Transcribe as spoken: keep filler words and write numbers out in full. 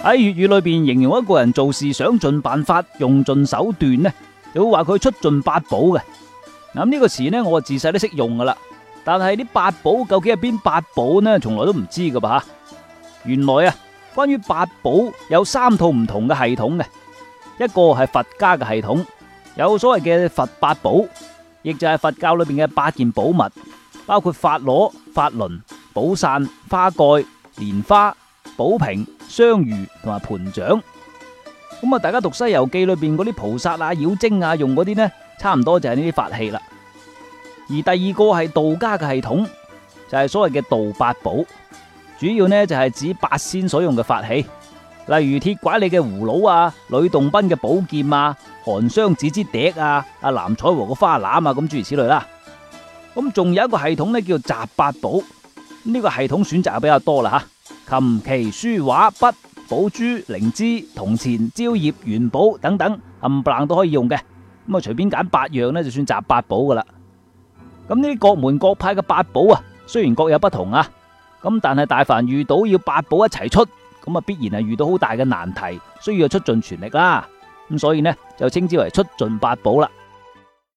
喺粵語裏邊形容一個人做事想盡辦法、用盡手段呢，就會話佢出盡八寶嘅。咁呢個詞呢，我自細都識用噶啦。但係啲八寶究竟係邊八寶呢？從來都唔知噶噃吓。原來啊，關於八寶有三套唔同嘅系統嘅。一個係佛家嘅系統，有所謂嘅佛八寶，亦就係佛教裏邊嘅八件寶物，包括法螺、法輪、寶傘、花蓋、蓮花、寶瓶、雙魚同埋盤掌。咁啊，大家讀《西遊記》裏邊嗰啲菩薩啊、妖精啊用嗰啲呢，差唔多就係呢啲法器啦。而第二個係道家嘅系統，就係所謂嘅道八寶，主要呢就係指八仙所用嘅法器，例如鐵拐李嘅葫蘆啊、呂洞賓嘅寶劍啊、韓湘子之笛啊、阿藍采和嘅花籃啊，咁諸如此類啦。咁仲有一個系統呢，叫雜八寶，呢個系統選擇就比較多啦吓，琴棋書畫筆寶珠靈芝銅錢蕉葉元寶等等冚唪唥都可以用嘅。咁啊，隨便揀八樣呢，就算雜八寶噶啦。咁呢啲各門各派嘅八寶啊，雖然各有不同啊，咁但係大凡遇到要八寶一齊出，咁啊必然係遇到好大嘅難題，需要出盡全力啦。咁所以呢，就稱之為出盡八寶啦。